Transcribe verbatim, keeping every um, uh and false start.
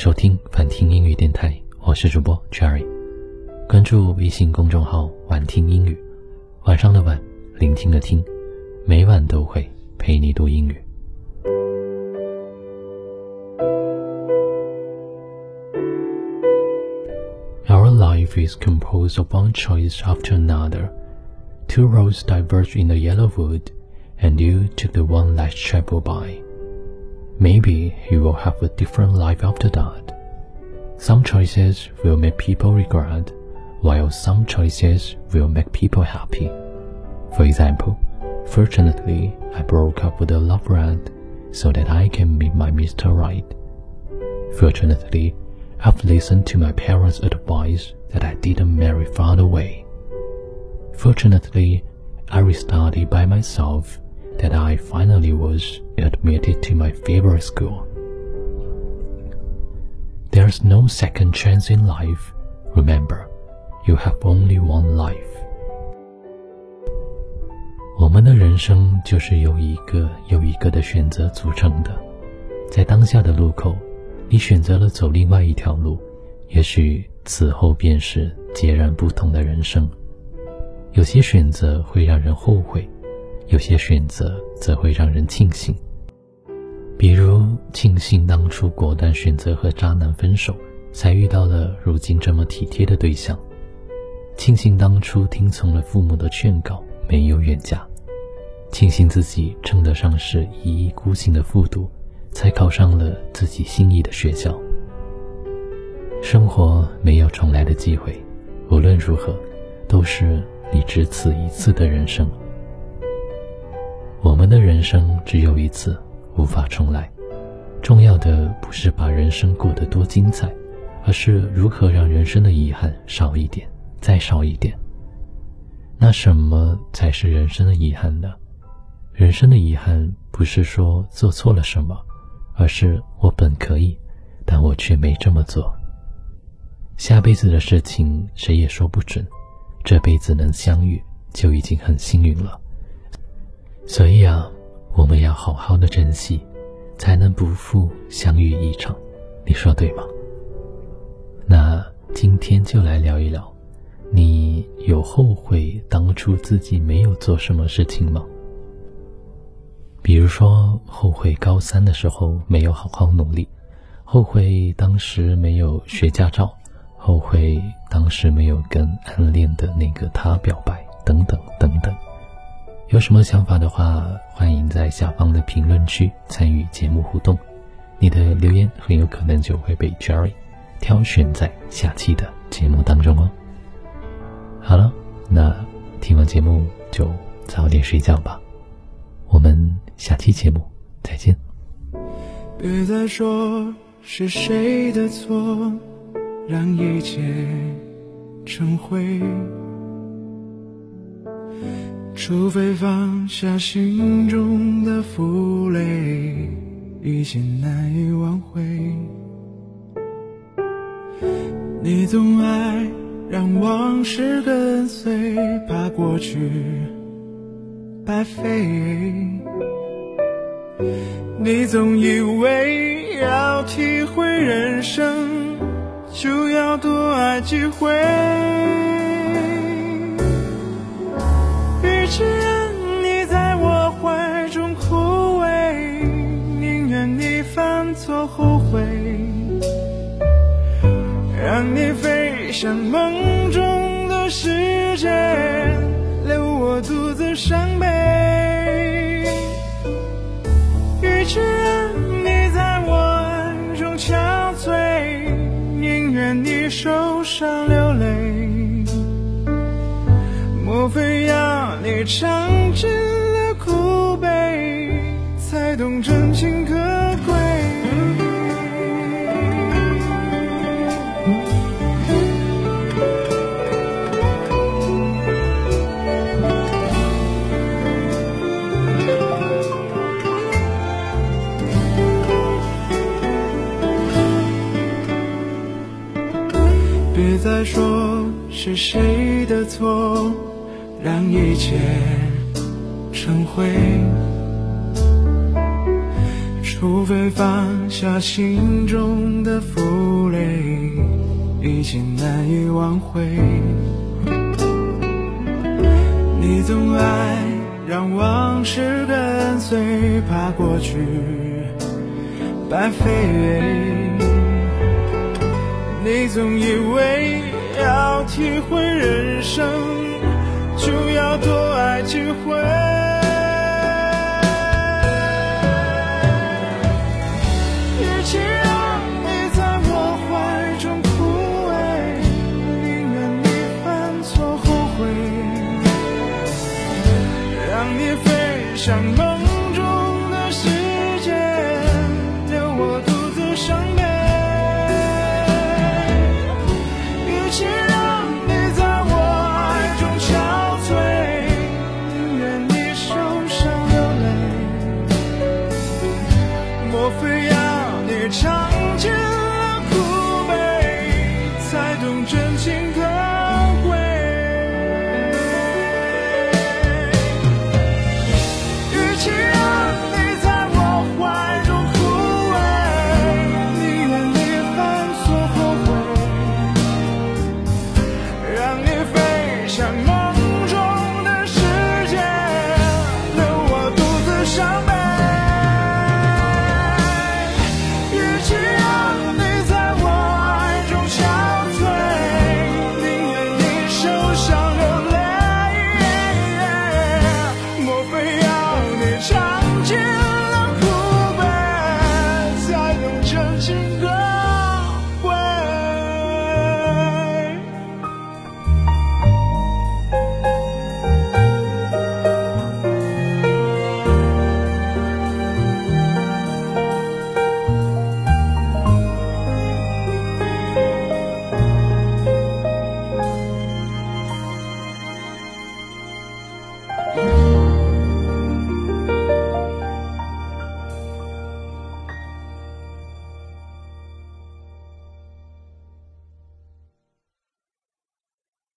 收听晚听英语电台，我是主播 Cherry。 关注微信公众号晚听英语，晚上的晚，聆听的听，每晚都会陪你读英语。Our life is composed of one choice after another. Two roads diverge in the yellow wood, and you took the one less traveled by. Maybe you will have a different life after that. Some choices will make people regret, while some choices will make people happy. For example, fortunately, I broke up with a lover so that I can meet my Mister Right. Fortunately, I've listened to my parents' advice that I didn't marry far away. Fortunately, I restudied by myself that I finally was admitted to my favorite school. There's no second chance in life. Remember, you have only one life. 我们的人生就是由一个又一个的选择组成的。在当下的路口，你选择了走另外一条路，也许此后便是截然不同的人生。有些选择会让人后悔，有些选择则会让人庆幸。比如庆幸当初果断选择和渣男分手，才遇到了如今这么体贴的对象。庆幸当初听从了父母的劝告，没有远嫁。庆幸自己称得上是一意孤行的复读，才考上了自己心仪的学校。生活没有重来的机会，无论如何，都是你只此一次的人生。我们的人生只有一次，无法重来。重要的不是把人生过得多精彩，而是如何让人生的遗憾少一点，再少一点。那什么才是人生的遗憾呢？人生的遗憾不是说做错了什么，而是我本可以，但我却没这么做。下辈子的事情谁也说不准，这辈子能相遇就已经很幸运了。所以啊，我们要好好的珍惜，才能不负相遇一场，你说对吗？那今天就来聊一聊，你有后悔当初自己没有做什么事情吗？比如说后悔高三的时候没有好好努力，后悔当时没有学驾照，后悔当时没有跟暗恋的那个他表白，等等等等。有什么想法的话，欢迎在下方的评论区参与节目互动，你的留言很有可能就会被 Jerry 挑选在下期的节目当中哦。好了，那听完节目就早点睡觉吧，我们下期节目再见。 别再说是谁的错，让一切成灰，除非放下心中的负累，一切难以挽回。你总爱让往事跟随，怕过去白费。你总以为要体会人生，就要多爱几回。与其让你在我怀中枯萎，宁愿你犯错后悔，让你飞向梦中的世界，留我独自伤悲。与其让你在我爱中憔悴，宁愿你受伤流泪。莫非要你尝尽了苦悲，才懂真情可贵？别再说是谁的错，让一切成灰，除除非放下心中的负累，已经难以挽回。你总爱让往事跟随，怕过去白费。你总以为要体会人生，就要多爱几回。与其让你在我怀中枯萎，宁愿你犯错后悔，让你飞向梦中的世界，留我独自伤悲。与其让你在我爱中憔悴，宁愿你受伤流泪。莫非要你尝